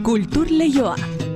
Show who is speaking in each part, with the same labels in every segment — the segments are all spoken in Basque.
Speaker 1: Kultur Leioa.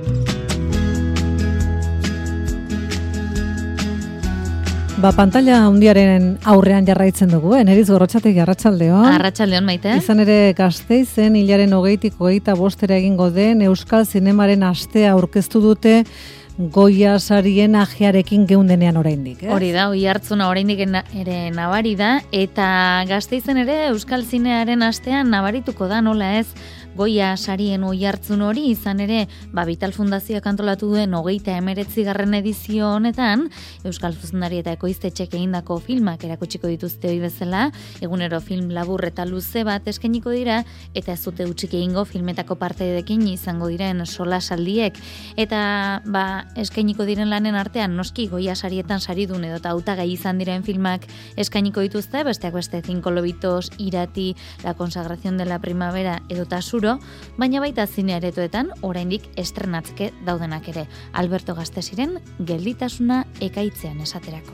Speaker 2: Pantalla handiaren aurrean jarraitzen dugu, Neriz Gorrotxategi, arratsaldeon.
Speaker 3: Arratsaldeon, Maite.
Speaker 2: Izan ere Gasteizen hilaren 20tik 25 egingo den Euskal Zinemaren astea aurkeztu dute Goya sarien ajearekin geundenean oraindik.
Speaker 3: Hori da, Oihartzuna oraindik ere nabari da, eta Gasteizen ere Euskal Zinearen astean nabarituko da, nola ez, Goya sarien Oihartzun hori, izan ere, Vital Fundazioak antolatu duen 39. edizio honetan, Euskal Zuzendari eta ekoiztetxek egindako filmak erakutsiko dituzte ohi bezala, egunero film labur eta luze bat eskainiko dira, eta ez dute hutsik egingo filmetako partaideekin izango diren solasaldiek, eta eskainiko diren lanen artean, noski Goya sarietan saridun edo hautagai izan diren filmak eskainiko dituzte, besteak beste 5 lobitos, Irati, La consagración de la primavera edo Tasuro, baina baita zine aretoetan oraindik estrenatzeke daudenak ere. Alberto Gastesiren Gelditasuna ekaitzean esaterako.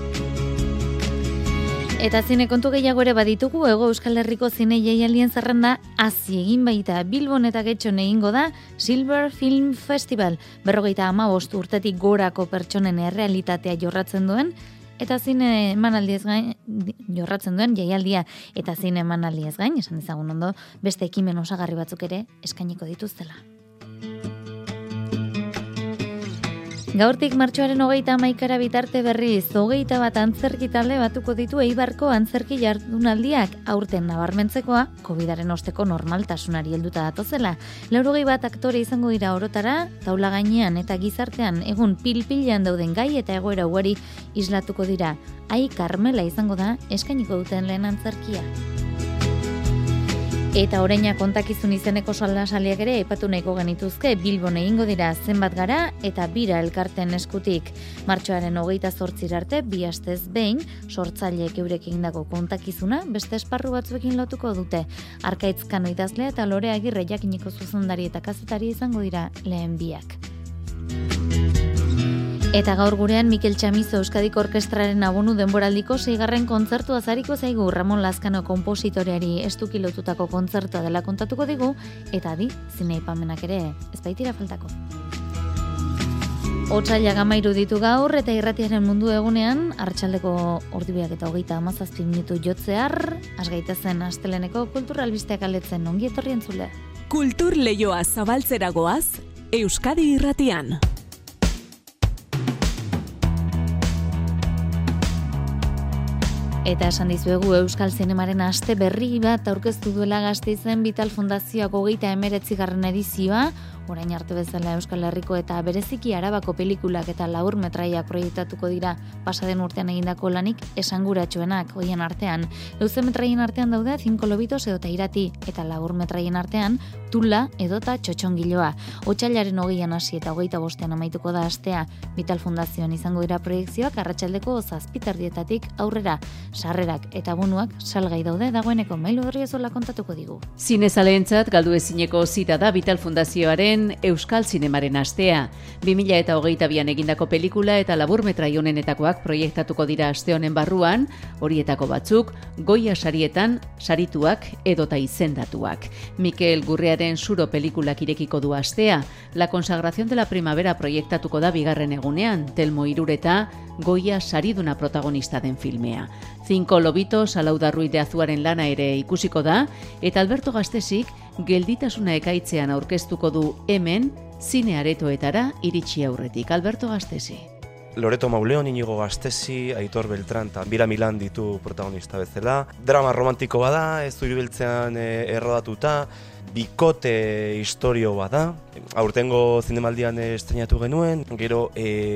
Speaker 3: Eta zine kontu gehiago ere baditugu, Hego Euskal Herriko zine jaialdien zerrenda hasi egin baita Bilbon eta Getxon egingo da Silver Film Festival, 55 urtetik gorako pertsonen errealitatea jorratzen duen, eta zine emanaldiez gain, jorratzen duen jaialdia, eta zine emanaldiez gain, esan ezagun ondo, beste ekimen osagarri batzuk ere eskainiko dituztela. Gaurtik martxoaren 31 bitarte berriz, 21 antzerki talde batuko ditu Eibarko antzerki jardunaldiak, aurten nabarmentzekoa, Covidaren osteko normaltasunari helduta datozela. 81 aktore izango dira orotara, taula gainean eta gizartean egun pil-pilean dauden gai eta egoera ugari islatuko dira. Ai Karmela izango da eskainiko duten lehen antzerkia. Eta oraina kontakizun izeneko solasaliak ere aipatu nahiko genituzke, Bilbon egingo dira zenbat gara eta bira elkarten eskutik. Martxoaren 28 arte, 2 astez behin, sortzaileek eurek egindako kontakizuna beste esparru batzuekin lotuko dute. Arkaitz Kano idazlea eta Lore Agirre jakiniko zuzendari eta kazetari izango dira lehen biak. Eta gaur gurean Mikel Txamizo Euskadiko Orkestraren abonu denboraldiko 6. kontzertua zariko zaigu, Ramon Lazkano konpositoreari estuki lotutako kontzertua dela kontatuko digu, eta zine aipamenak ere ez baitira faltako. Otsailak 13 ditu gaur eta irratiaren mundu egunean, arratsaldeko 2:27 jotzear, has gaitezen asteleneko kultur albisteak aletzen, ongi etorri entzule.
Speaker 1: Kultur Leioa zabaltzera goaz, Euskadi irratian.
Speaker 3: Eta esan dizuegu Euskal Zinemaren aste berri bat aurkeztu duela Gasteizen Vital Fundazioak 39. edizioa, orain arte bezala Euskal Herriko eta bereziki Arabako pelikulak eta labur metraiak proiektatuko dira pasaden urtean egindako lanik esanguratsuenak hoien artean. Luze metraien artean daude 5 lobitos edota Irati eta labur metraien artean Tula edota Txotxongiloa. Otsailaren 20an hasi eta 25ean amaituko da astea. Vital Fundazioan izango dira proiekzioak arratsaldeko 7:00 aurrera. Sarrerak eta bonuak salgai daude, dagoeneko Mailu Orriozola kontatuko digu.
Speaker 4: Zinezaleentzat galdu ezineko zita da Vital Fundazioaren Euskal Zinemaren astea. 2022an egindako pelikula eta laburmetrai honenetakoak proiektatuko dira aste honen barruan, horietako batzuk Goya sarietan sarituak edota izendatuak. Mikel Gurriaren Zuro pelikulak irekiko du astea. La consagración de la primavera proiektatuko da 2. egunean, Telmo Irureta Goya sariduna protagonista den filmea. 5 lobitos Alauda Ruiz de Azuaren lana ere ikusiko da, eta Alberto Gastesik Gelditasuna ekaitzean aurkeztuko du hemen zine aretoetara iritsi aurretik. Alberto Gastesi.
Speaker 5: Loreto Mauleon, Inigo Gastesi, Aitor Beltran eta Bira Milan ditu protagonista bezala. Drama romantiko bada, ez Zuribeltzean errodatuta, bikote historio bada. Aurtengo zinemaldian estreinatu genuen, gero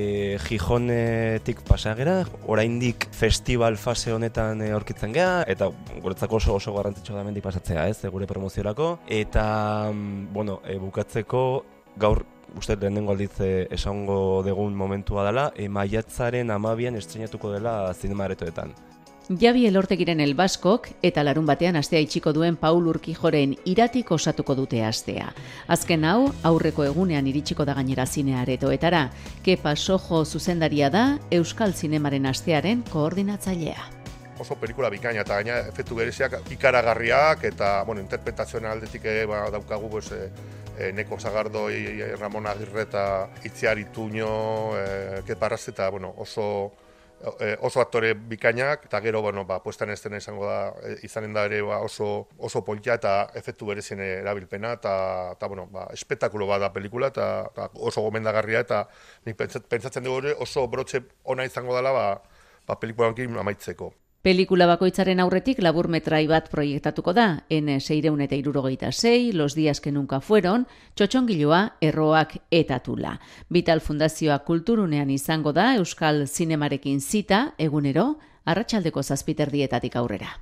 Speaker 5: Gijonetik pasagera, oraindik festival fase honetan aurkitzen gea, eta guretzako oso garrantzitsua da hemendik pasatzea, gure promoziorako. Eta, bukatzeko gaur uste lehenengo aldiz esango dugun momentua dela, maiatzaren 12an estreinatuko dela zinema aretoetan.
Speaker 4: Javi Elortegiren El Baskok eta larun batean astea itxiko duen Paul Urquijoren Iratik osatuko dute astea. Azken hau, aurreko egunean iritsiko da gainera zine aretoetara. Kepa Sojo zuzendaria da Euskal Zinemaren astearen koordinatzailea.
Speaker 6: Oso pelikula bikaina eta gaina efektu bereziak ikaragarriak eta interpretazioen aldetik daukagu Neko Sagardoi, Ramon Agirre eta Itziar Ituño, Keparraz eta bueno, oso aktore bikainak, eta gero, puesta en estena izanen da ere oso polita eta efektu berezien erabilpena, eta espektakulo bat da pelikula, eta oso gomendagarria, eta nik pentsatzen dugu ere oso brotxe ona izango dela pelikularekin amaitzeko.
Speaker 4: Pelikula bakoitzaren aurretik laburmetrai bat proiektatuko da, N676, Los días que nunca fueron, Txotxongiloa, Erroak eta Tula. Vital Fundazioa kulturunean izango da Euskal Zinemarekin zita, egunero, arratsaldeko 7:00 aurrera.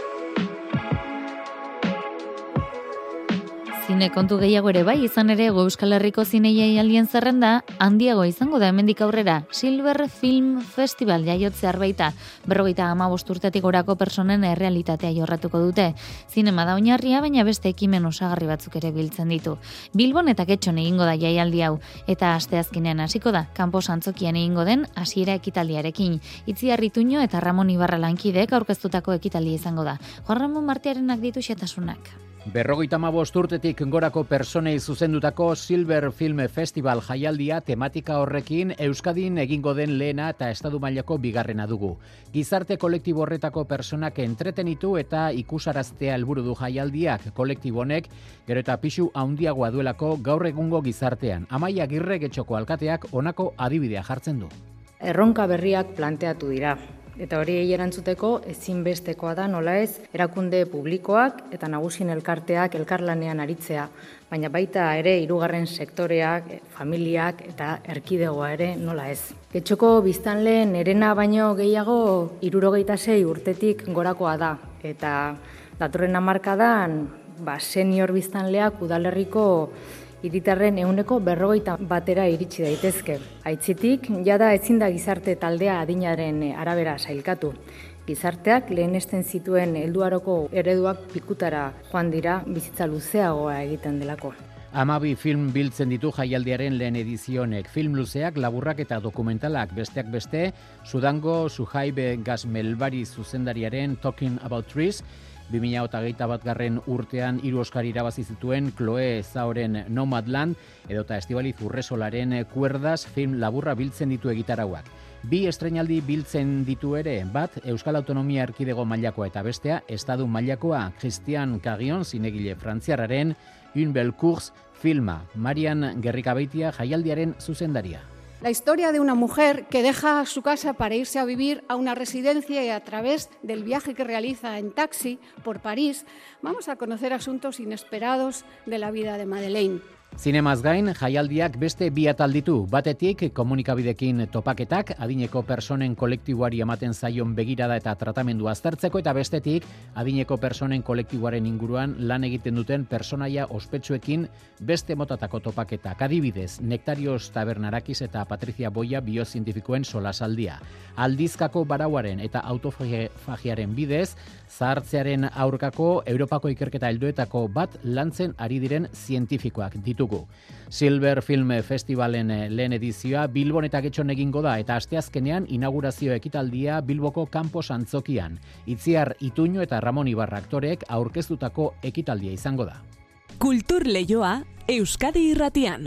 Speaker 3: Zine kontu gehiago ere bai, izan ere Euskal Herriko zinejaialdien zerrenda handiago izango da hemendik aurrera. Silver Film Festival jaiotzear baita, 55 urtetik gorako personen errealitatea jorratuko dute. Zinema da oinarria, baina beste ekimen osagarri batzuk ere biltzen ditu. Bilbon eta Getxon egingo da jaialdi hau, eta asteazkenean hasiko da, kanpo antzokian egingo den hasiera ekitaldiarekin. Itziar Ituño eta Ramon Ibarra lankideek aurkeztutako ekitaldia izango da. Juan Ramon Martiarenak ditu xetasunak.
Speaker 7: 55 urtetik gorako personei zuzendutako Silver Film Festival jaialdia tematika horrekin Euskadin egingo den lehena eta estatu mailako bigarrena dugu. Gizarte kolektibo horretako personak entretenitu eta ikusaraztea helburu du jaialdiak. Kolektibo honek gero eta pisu handiagoa duelako gaur egungo gizartean. Amaia Agirre Getxoko alkateak honako adibidea jartzen du.
Speaker 8: Erronka berriak planteatu dira. Eta hori erantzuteko ezinbestekoa da nola ez erakunde publikoak eta nagusien elkarteak elkarlanean aritzea, baina baita ere hirugarren sektoreak, familiak eta erkidegoa ere nola ez. Getxoko biztanle nerena baino gehiago 76 urtetik gorakoa da eta datorren hamarkadan senior biztanleak udalerriko hiritarren 40% iritsi daitezke. Aitzitik, jada ezin da gizarte taldea adinaren arabera sailkatu. Gizarteak lehenesten zituen helduaroko ereduak pikutara joan dira bizitza luzeagoa egiten delako.
Speaker 7: 12 film biltzen ditu jaialdiaren lehen edizionek. Film luzeak, laburrak eta dokumentalak besteak beste, Sudango Suhaibe Gazmelbari zuzendariaren Talking About Trees, 2021 urtean 3 Oskar irabazi zituen Chloe Zaoren Nomadland edota Estibaliz Urresolaren Cuerdas film laburra biltzen ditu egitarauak. 2 estreinaldi biltzen ditu ere, bat Euskal Autonomia Erkidego mailakoa eta bestea estadu mailakoa. Christian Cagion zinegile frantziarraren Une belle course filma. Marian Gerrikabeitia jaialdiaren zuzendaria.
Speaker 9: La historia de una mujer que deja su casa para irse a vivir a una residencia y a través del viaje que realiza en taxi por París, vamos a conocer asuntos inesperados de la vida de Madeleine.
Speaker 7: Zinemaz gain, jaialdiak beste 2 atal ditu. Batetik, komunikabidekin topaketak, adineko personen kolektiboari ematen zaion begirada eta tratamendu aztertzeko, eta bestetik, adineko personen kolektiboaren inguruan lan egiten duten personaia ospetsuekin beste motatako topaketak. Adibidez, Nektarios Tabernarakiz eta Patricia Boia biozientifikoen solasaldia. Aldizkako barauaren eta autofagiaren bidez, zahartzearen aurkako Europako ikerketa helduetako bat lantzen ari diren zientifikoak ditugu. Silver Film Festivalen lehen edizioa Bilbon eta Getxon egingo da eta asteazkenean inaugurazio ekitaldia Bilboko kanpo antzokian. Itziar Ituño eta Ramon Ibarra aktoreek aurkeztutako ekitaldia izango da.
Speaker 1: Kultur Leioa Euskadi Irratian.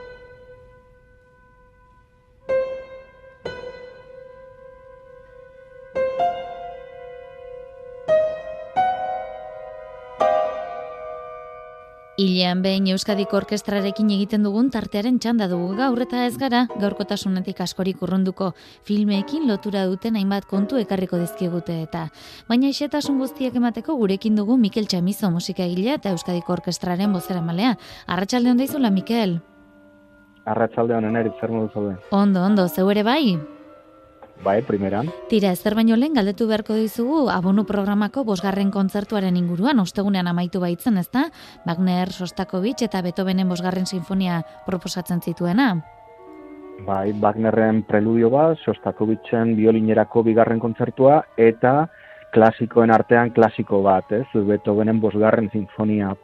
Speaker 3: Hilean behin Euskadiko Orkestrarekin egiten dugun tartearen txanda dugu gaur eta ez gara, gaurkotasunetik askorik urrunduko filmeekin lotura duten hainbat kontu ekarriko dizkigute eta. Baina xehetasun guztiak emateko gurekin dugu Mikel Txamizo musikagilea eta Euskadiko Orkestraren bozeramalea. Arratsalde on daizula, Mikel?
Speaker 10: Arratsalde on, Eneritz, zer modu zaude?
Speaker 3: Ondo, zeu ere bai?
Speaker 10: Bai, primeran.
Speaker 3: Tira, ezer baino lehen galdetu beharko dizugu abonu programako 5. kontzertuaren inguruan, ostegunean amaitu baitzen, ezta? Wagner, Sostakovich eta Beethovenen 5. sinfonia proposatzen zituena.
Speaker 10: Bai, Wagnerren preludio bat, Sostakovichen biolinerako 2. kontzertua eta klasikoen artean klasiko bat, ez? Beethovenen 5. sinfonia.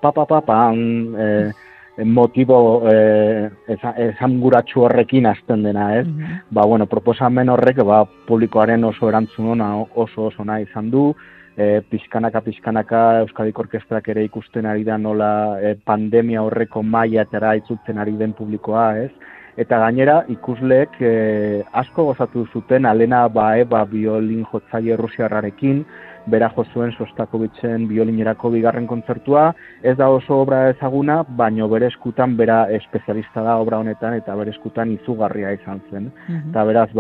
Speaker 10: Motibo esanguratsu horrekin hasten dena, ez? Proposamen horrek publikoaren oso erantzun ona, oso ona izan du, pixkanaka Euskadiko Orkestrak ere ikusten ari da nola pandemia horreko mailatara itzultzen ari den publikoa, ez? Eta gainera ikusleek asko gozatu zuten Alena Baeva biolin jotzaile rusiarrarekin, bera jo zuen Sostakovitzen biolinerako bigarren kontzertua, ez da oso obra ezaguna, baino bere eskutan bera espezialista da obra honetan eta bere eskutan izugarria izan zen. Eta beraz,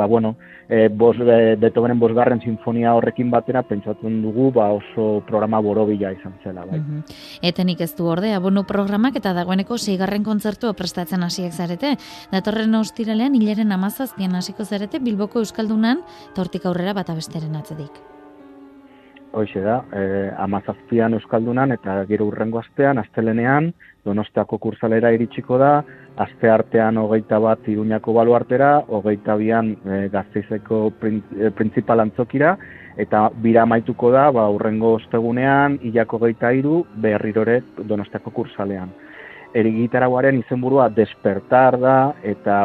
Speaker 10: Beethovenen 5. sinfonia horrekin batera pentsatzen dugu oso programa borobila izan zela. Bai.
Speaker 3: Etenik ez du ordea, abono programak eta dagoeneko 6. kontzertua prestatzen hasiek zarete. Datorren ostiralean hilaren 17 hasiko zarete Bilboko Euskaldunan, eta hortik aurrera bata besteren atzedik.
Speaker 10: Hoxe da, 17an Euskaldunan eta gero hurrengo astean, astelenean, Donostiako kursalera iritsiko da, aste artean 21 Iruñako baluartera, 22an Gasteizeko printzipal antzokira, eta bira amaituko da, hurrengo ostegunean, hilako 23 berrirore Donostiako kursalean. Erigitarauaren izenburua Despertar da, eta,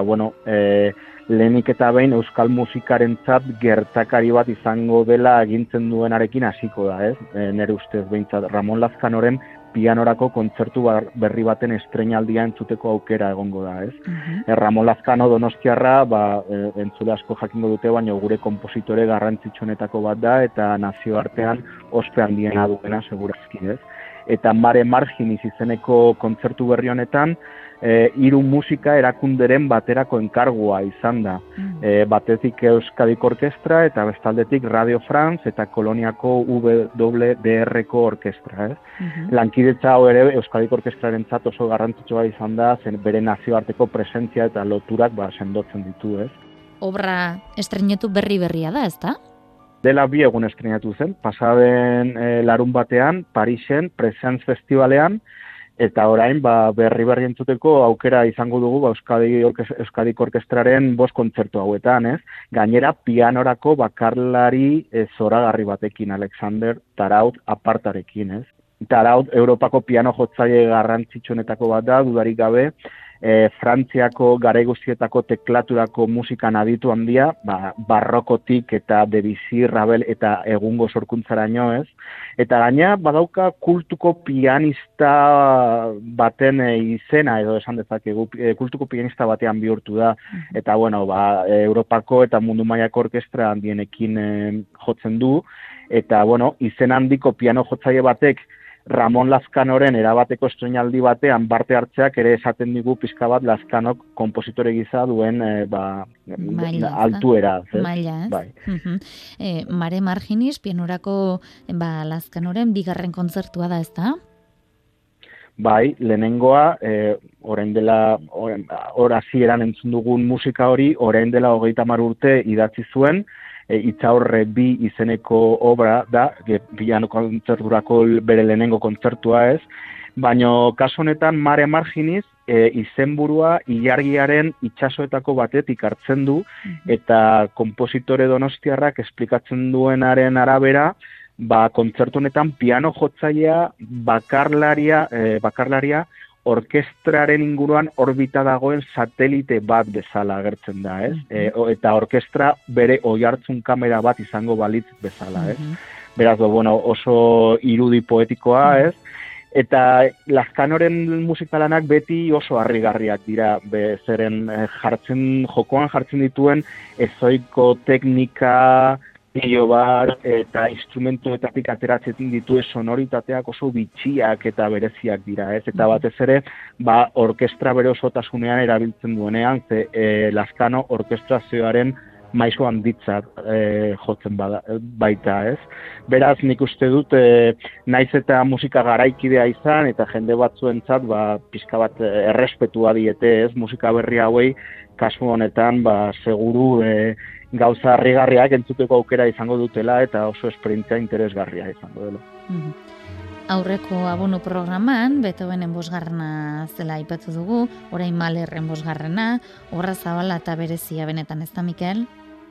Speaker 10: lehenik eta behin euskal musikarentzat gertakari bat izango dela agintzen duenarekin hasiko da, ez? Nere ustez behintzat Ramon Lazkanoren pianorako kontzertu berri baten estreinaldia entzuteko aukera egongo da, ez? Ramon Lazkano Donostiarra, entzule asko jakingo dute, baina gure konpositore garrantzitsuenetako bat da, eta nazioartean ospe handiena duena segurazki, ez? Eta Mare Marginis izeneko kontzertu berri honetan, 3 musika erakunderen baterako enkargua izan da. Batetik Euskadiko Orkestra eta bestaldetik Radio France eta Koloniako WDR-ko orkestra. Lankidetza hau ere Euskadiko Orkestrarentzat oso garrantzitsua izan da, zen bere nazioarteko presentzia eta loturak sendotzen ditu.
Speaker 3: Obra estreinetu berria da, ezta?
Speaker 10: Dela 2 egun estreinatu zen, pasaden larun batean, Parisen, Presence Festivalean, eta orain berri entzuteko aukera izango dugu Euskadiko Orkestraren 5 kontzertu hauetan, ez? Gainera pianorako bakarlari zoragarri batekin, Alexander Taraud apartarekin, ez? Taraud Europako piano jotzaile garrantzitsuenetako bat da, dudarik gabe, Frantziako garaigozietako teklaturako musikan aditu handia, barrokotik eta Debussy, Ravel eta egungo sorkuntzaraino, ez? Eta gaina badauka kultuko pianista baten izena, edo esan dezakegu, kultuko pianista batean bihurtu da, eta Europako eta mundu mailako orkestra handienekin jotzen du, eta izen handiko piano jotzaile batek Ramon Lazkanoren erabateko estreinaldi batean parte hartzeak ere esaten digu pixka bat Lazkanok konpositore gisa duen altuera.
Speaker 3: Maila, ez? Bai. Mare Marginis, pianorako Lazkanoren 2. kontzertua da, ezta?
Speaker 10: Bai, lehenengoa, orain dela, hasieran entzun dugun musika hori, orain dela 30 urte idatzi zuen, Itzaurre 2 izeneko obra da, piano kontzerturako bere lehenengo kontzertua, ez? Baina kasu honetan Mare Marginis izenburua ilargiaren itsasoetako batetik hartzen du, eta konpositore donostiarrak esplikatzen duenaren arabera, kontzertu honetan piano jotzailea bakarlaria orkestraren inguruan orbita dagoen satelite bat bezala agertzen da, ez? Eta orkestra bere oihartzun kamera bat izango balitz bezala, ez? Beraz, oso irudi poetikoa, ez? Eta Lazkanoren musikalanak beti oso harrigarriak dira, zeren jokoan jartzen dituen ezoiko teknika, bar eta instrumentuetatik ateratzen dituen sonoritateak oso bitxiak eta bereziak dira, ez? Eta batez ere, orkestra bere osotasunean erabiltzen duenean, Lazkano orkestrazioaren maisu handitzat jotzen baita, ez? Beraz, nik uste dut, naiz eta musika garaikidea izan, eta jende batzuentzat, pixka bat errespetua diete, ez? Musika berri hauei, kasu honetan, seguru gauza harrigarriak entzuteko aukera izango dutela, eta oso esperientzia interesgarria izango dela.
Speaker 3: Aurreko abono programan, Beethovenen 5. zela aipatu dugu, orain Mahlerren 5. Obra zabala eta berezia benetan, ez da, Mikel?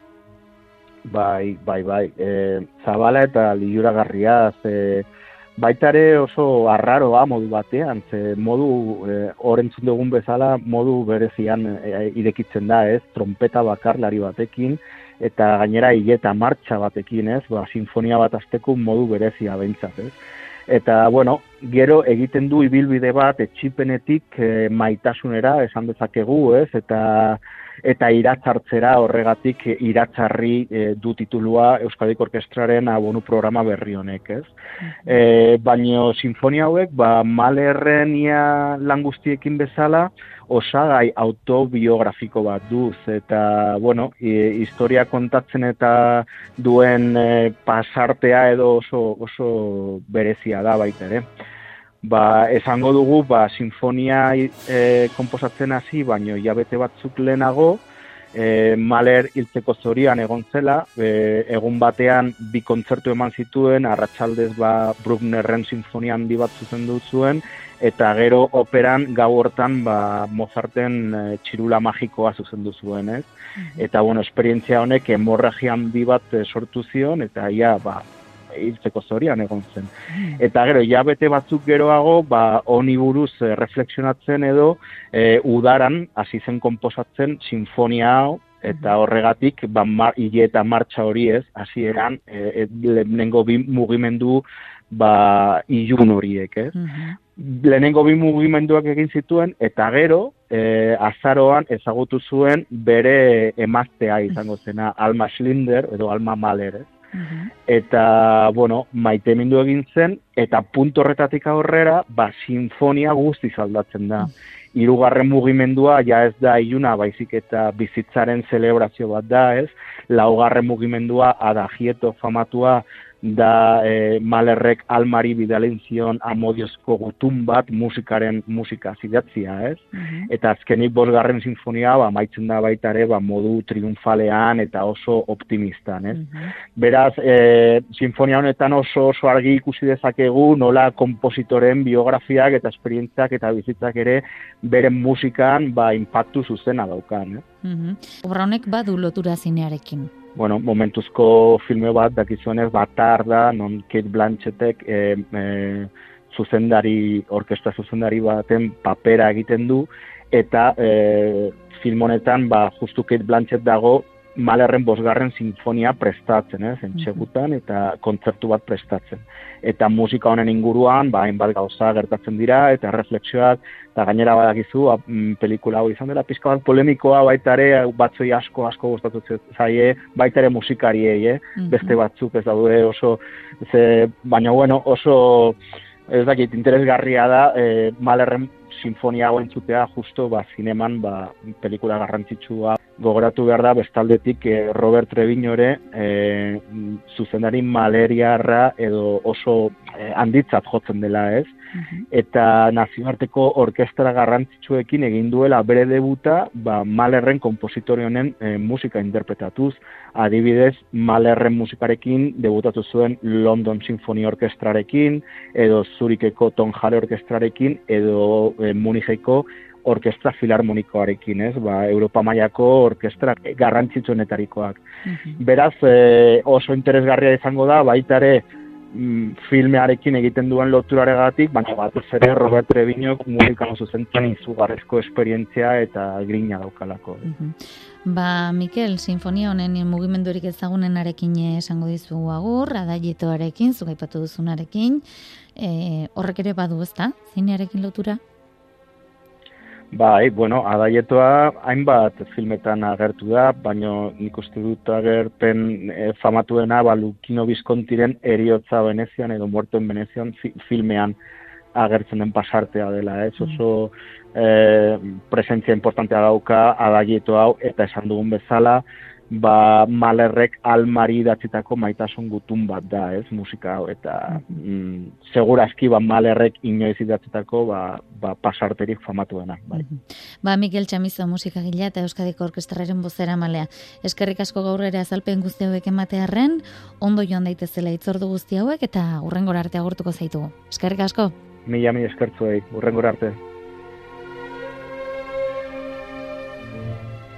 Speaker 10: Bai. Zabala eta liuragarria, baita ere oso arraroa modu batean, modu orentzun dugun bezala, modu berezian irekitzen da, ez? Trompeta bakarlari batekin, eta gainera hileta martxa batekin, ez? Sinfonia bat azteko modu berezia behintzat, ez? Eta, bueno, gero egiten du ibilbide bat etxipenetik maitasunera esan dezakegu, ez? Eta iratzartzera horregatik iratzarri du titulua Euskadiko Orkestraren abonu programa berri honek, ez? Baina sinfonia hauek, Mahlerren ia lan guztiekin bezala, osagai autobiografiko bat duz, eta, bueno, historia kontatzen eta duen pasartea edo oso berezia da baita ere. Esango dugu, sinfonia konposatzen hasi, baino hilabete batzuk lehenago, Mahler hiltzeko zorian egon zela, egun batean 2 kontzertu eman zituen, arratsaldez Brucknerren sinfonia handi bat zuzendu zuen, eta gero operan gau hortan Mozarten txirula magikoa zuzendu zuen, ez? Eta, bueno, esperientzia honek hemorragia handi bat sortu zion, eta ia, hiltzeko zorian egon zen. Eta gero, hilabete batzuk geroago, honi buruz reflexionatzen edo udaran hasi zen konposatzen sinfonia hau, eta horregatik, hile eta martxa hori ez, hasieran lehenengo 2 mugimendu ilun horiek, ez? Lehenengo 2 mugimenduak egin zituen, eta gero, azaroan ezagutu zuen bere emaztea izango zena, Alma Schindler edo Alma Mahler, ez? Eta, bueno, maitemindu egin zen, eta puntu horretatik aurrera, sinfonia guztiz aldatzen da. 3. mugimendua ja ez da iluna, baizik eta bizitzaren zelebrazio bat da, ez? 4. mugimendua adagieto famatua da Mahlerrek Almari bidalen zion amodiozko gutun bat musika zidatzia, ez? Eta azkenik 5. sinfonia amaitzen da baita ere modu triunfalean eta oso optimistan, ez? Beraz, sinfonia honetan oso argi ikusi dezakegu nola konpositoren biografiak eta esperientziak eta bizitzak ere beren musikan inpaktu zuzena daukan,
Speaker 3: Obra honek badu lotura zinearekin.
Speaker 10: Bueno, momentuzko filme bat dakizuenez Batar da, non Kate Blanchettek orkestra zuzendari baten papera egiten du, eta film honetan justu Kate Blanchett dago Mahlerren 5. sinfonia prestatzen, entxegutan, eta kontzertu bat prestatzen. Eta musika honen inguruan, hainbat gauza gertatzen dira, eta reflexioak, eta gainera badakizu, pelikula hau izan dela, pizka bat polemikoa, baita ere, batzoi asko gustatu zaie, baita ere musikariei, beste batzuk ez daude oso, baina bueno, oso, ez dakit, interesgarria da, Mahlerren sinfonia hau entzutea, justo, zineman, pelikula garrantzitsua, gogoratu behar da, bestaldetik Robert Treviño ere zuzendari mahleriarra edo oso handitzat jotzen dela, ez? Eta nazioarteko orkestra garrantzitsuekin egin duela bere debuta Mahlerren konpositore honen musika interpretatuz. Adibidez, Mahlerren musikarekin debutatu zuen London Symphony Orkestrarekin, edo Zurikeko Tonhalle Orkestrarekin, edo Municheko orkestra filarmonikoarekin, ez? Europa mailako orkestra garrantzitsuenetarikoak. Beraz, oso interesgarria izango da, baita ere filmearekin egiten duen loturaregatik, baina batez ere Robert Treviñok musikako zuzentzen izugarrizko esperientzia eta grina daukalako.
Speaker 3: Mikel, sinfonia honen mugimendurik ezagunenarekin esango dizu agur, adaietoarekin, zugaipatu duzunarekin, horrek ere badu, ezta? Zinearekin lotura?
Speaker 10: Bueno, adaietoa hainbat filmetan agertu da, baina nik uste dut agerpen famatuena Luchino Viscontiren Heriotza Venezian edo Muerto en Venezian filmean agertzen den pasartea dela, ez? Oso presentzia importantea dauka adaietoa hau, eta esan dugun bezala, Mahlerrek Almari idatzitako maitasun gutun bat da, ez, musika hau, eta segurazki Mahlerrek inoiz idatzitako pasarterik famatuena.
Speaker 3: Mikel Chamizo musikagilea eta Euskadiko Orkestraren bozeramalea. Eskerrik asko gaur ere azalpen guzti hauek ematearren, ondo joan daitezela hitzordu guzti hauek eta hurrengora arte agurtuko zaitugu. Eskerrik asko.
Speaker 10: Mila eskertzuei, hurrengora arte.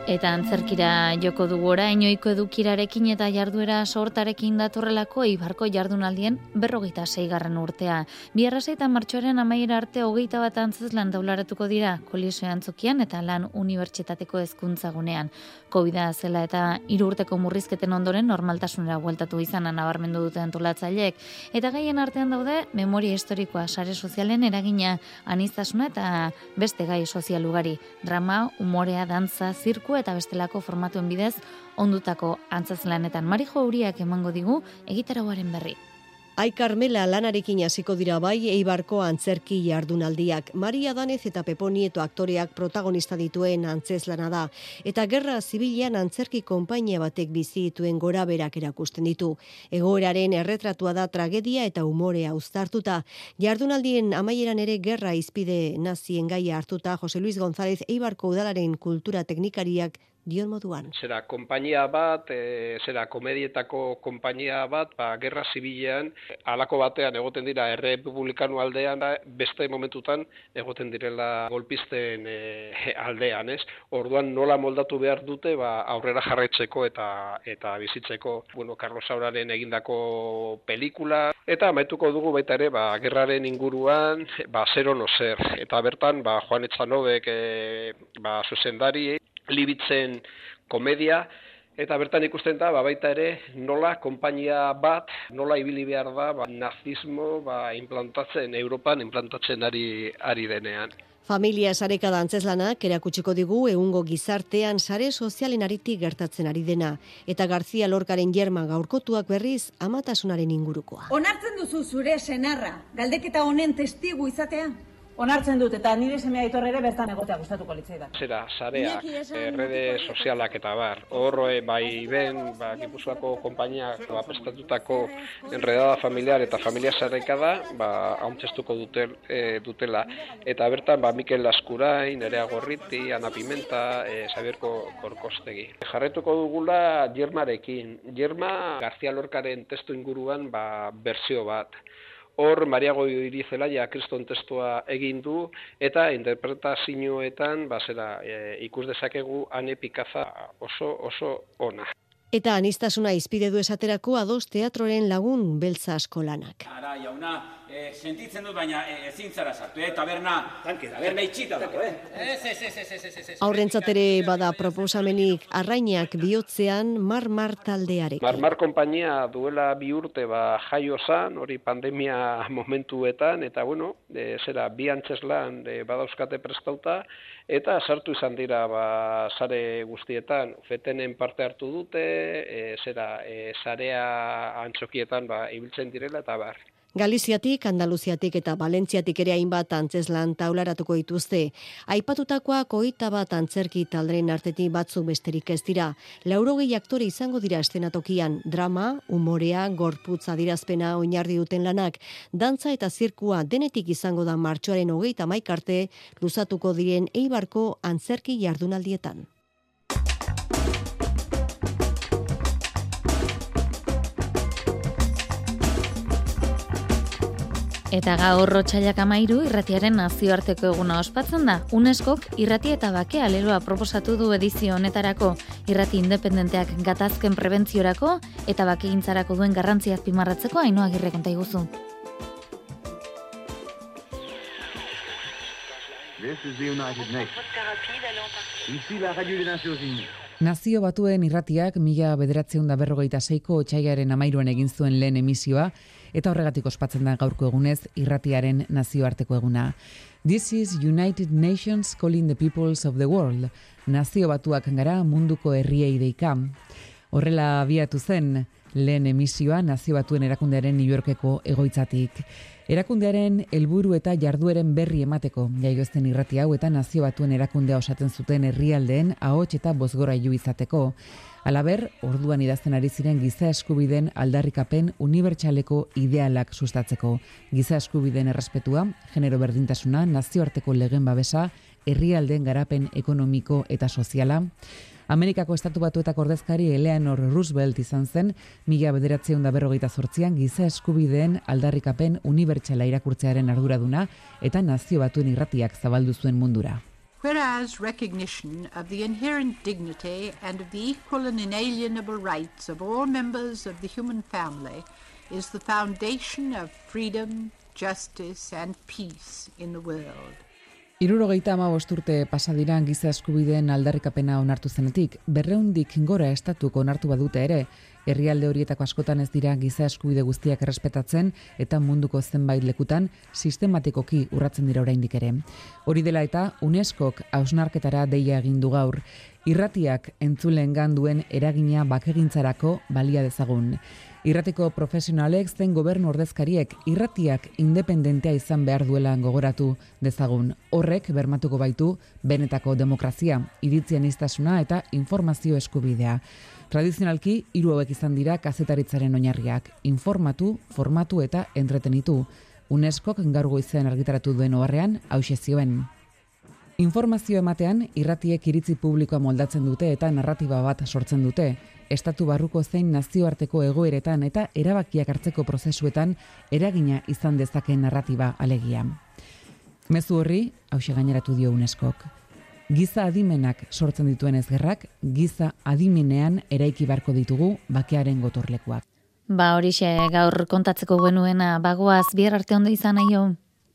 Speaker 3: Eta antzerkira joko dugu orain ohiko edukirarekin eta jarduera sortarekin datorrelako Eibarko jardunaldien 46. urtea. Biarraseita martxoaren 11 arte 21 antzezlan daularatuko dira Koliseo antzokian eta Lan Unibertsitateko hezkuntza gunean. Covida zela eta 3 urteko murrizketen ondoren normaltasunera bueltatu izana nabarmendu dute antolatzaileek. Eta gaien artean daude memoria historikoa, sare sozialen eragina, aniztasuna eta beste gai sozial ugari. Drama, umorea, dantza, zirku eta bestelako formatuen bidez ondutako antzezlanetan. Marijo Uriak emango digu egitarauaren berri.
Speaker 11: Ai Carmela lanarekin hasiko dira bai Eibarko antzerki jardunaldiak. Maria Danez eta Pepo Nieto aktoreak protagonista dituen antzezlana da. Eta gerra zibilean antzerki konpainia batek bizi dituen goraberak erakusten ditu. Egoeraren erretratua da tragedia eta umorea uztartuta. Jardunaldien amaieran ere gerra izpide nazien gaia hartuta Jose Luis González Eibarko udalaren kultura teknikariak dion moduan.
Speaker 12: Zera konpainia bat, komedietako konpainia bat, gerra zibilean, halako batean egoten dira errepublikanu aldean, beste momentutan egoten direla golpisten aldean, ez? Orduan nola moldatu behar dute aurrera jarraitzeko eta bizitzeko, Carlos Sauraren egindako pelikula, eta amaituko dugu baita ere, gerraren inguruan, zer ono zer. Eta bertan, Juan Etxanobek, zuzendari, Libitzen komedia, eta bertan ikusten da, baita ere, nola konpainia bat, nola ibili behar da, nazismo Europan implantatzen ari denean.
Speaker 11: Familia sarekada antzezlanak erakutsiko digu egungo gizartean sare sozialen aritik gertatzen ari dena. Eta García Lorcaren Jerma gaurkotuak berriz amatasunaren ingurukoa.
Speaker 13: Onartzen duzu zure senarra, galdeketa honen testigu izatea? Onartzen dut, eta nire semea Aitor ere bertan egotea gustatuko litzaidan.
Speaker 12: Sareak, rede sozialak eta bar. Hor, Gipuzkoako konpainiak prestatutako enredada familiar eta familia sarekada, hauntzestuko dutela. Eta bertan, Mikel Laskurain, Nerea Gorriti, Ana Pimenta, Xabier Korkostegi. Jarretuko dugula Jermarekin. Jerma, García Lorcaren testu inguruan, berzio bat. Hor, Maria Goiri Zelaia kriston testua egin du, eta interpretazioetan, ikus dezakegu Ane Pikaza oso ona.
Speaker 11: Eta anistasuna izpide du esaterako Ados Teatroren Lagun Beltza askolanak.
Speaker 14: Ara, jauna, sentitzen dut, baina ezin zara sartu, taberna itxita dago, Ez.
Speaker 11: Aurrentzat ere bada proposamenik Arrainak bihotzean Mar taldearek.
Speaker 12: Mar konpainia duela 2 urte jaio zan, hori pandemia momentuetan, eta bi antzeslan badauzkate prestauta, eta sartu izan dira sare guztietan, fetenen parte hartu dute, sarea antzokietan ibiltzen direla eta bar.
Speaker 11: Galiziatik, Andaluziatik eta Valentziatik ere hainbat antzeslan taularatuko dituzte. Aipatutakoak 21 antzerki talderen artetik batzuk besterik ez dira. 80 aktore izango dira eszenatokian, drama, umorea, gorputz adierazpena oinarri duten lanak, dantza eta zirkua denetik izango da martxoaren 31 arte luzatuko diren Eibarko antzerki jardunaldietan.
Speaker 3: Eta gaur otsailak 13 irratiaren nazioarteko eguna ospatzen da. UNESCOk irrati eta bakea leloa proposatu du edizio honetarako. Irrati independenteak gatazken prebentziorako eta bakegintzarako duen garrantzia azpimarratzeko Ainhoa Agirre konta iguzu.
Speaker 15: Nazio Batuen irratiak 1946ko otsailaren 13an egin zuen lehen emisioa, eta horregatik ospatzen da gaurko egunez irratiaren nazioarteko eguna. This is United Nations calling the peoples of the world. Nazio Batuak gara munduko herriei deika. Horrela abiatu zen lehen emisioa Nazio Batuen erakundearen New Yorkeko egoitzatik. Erakundearen helburu eta jardueren berri emateko jaiozen irrati hau eta Nazio Batuen erakundea osatzen zuten herrialdeen ahots eta bozgorailu izateko. Halaber, orduan idazten ari ziren giza eskubideen aldarrikapen unibertsaleko idealak sustatzeko. Giza eskubideen errespetua, genero berdintasuna, nazioarteko legen babesa, herrialdeen garapen ekonomiko eta soziala. Amerikako Estatu Batuetako ordezkari Eleanor Roosevelt izan zen 1948an giza eskubideen aldarrikapen unibertsala irakurtzearen arduraduna eta Nazio Batuen irratiak zabaldu zuen mundura.
Speaker 16: Whereas recognition of the inherent dignity and of the equal and inalienable rights of all members of the human family is the foundation of freedom, justice and peace in the world.
Speaker 15: 75 urte pasadiran giza eskubideen aldarrikapena onartu zenetik, 200 gora estatuk onartu badute ere, herrialde horietako askotan ez dira giza eskubide guztiak errespetatzen eta munduko zenbait lekutan sistematikoki urratzen dira oraindik ere. Hori dela eta UNESCOk hausnarketara deia egin du gaur, irratiak entzuleengan duen eragina bakegintzarako balia dezagun. Irratiko profesionalek zein gobernu ordezkariek irratiak independentea izan behar duela gogoratu dezagun. Horrek bermatuko baitu benetako demokrazia, iritzi aniztasuna eta informazio eskubidea. Tradizionalki, 3 hauek izan dira kazetaritzaren oinarriak, informatu, formatu eta entretenitu. UNESCOk gaur goizean argitaratu duen oharrean hauxe zioen. Informazio ematean, irratiek iritzi publikoa moldatzen dute eta narratiba bat sortzen dute. Estatu barruko zein nazioarteko egoeretan eta erabakiak hartzeko prozesuetan eragina izan dezakeen narratiba alegia. Mezu horri, hauxe gaineratu dio UNESCOk. Giza adimenak sortzen dituen ezgerrak, giza adimenean eraiki barko ditugu bakearen gotorlekuak.
Speaker 3: Horixe gaur kontatzeko genuena, bagoaz bihar arte ondo izan aio.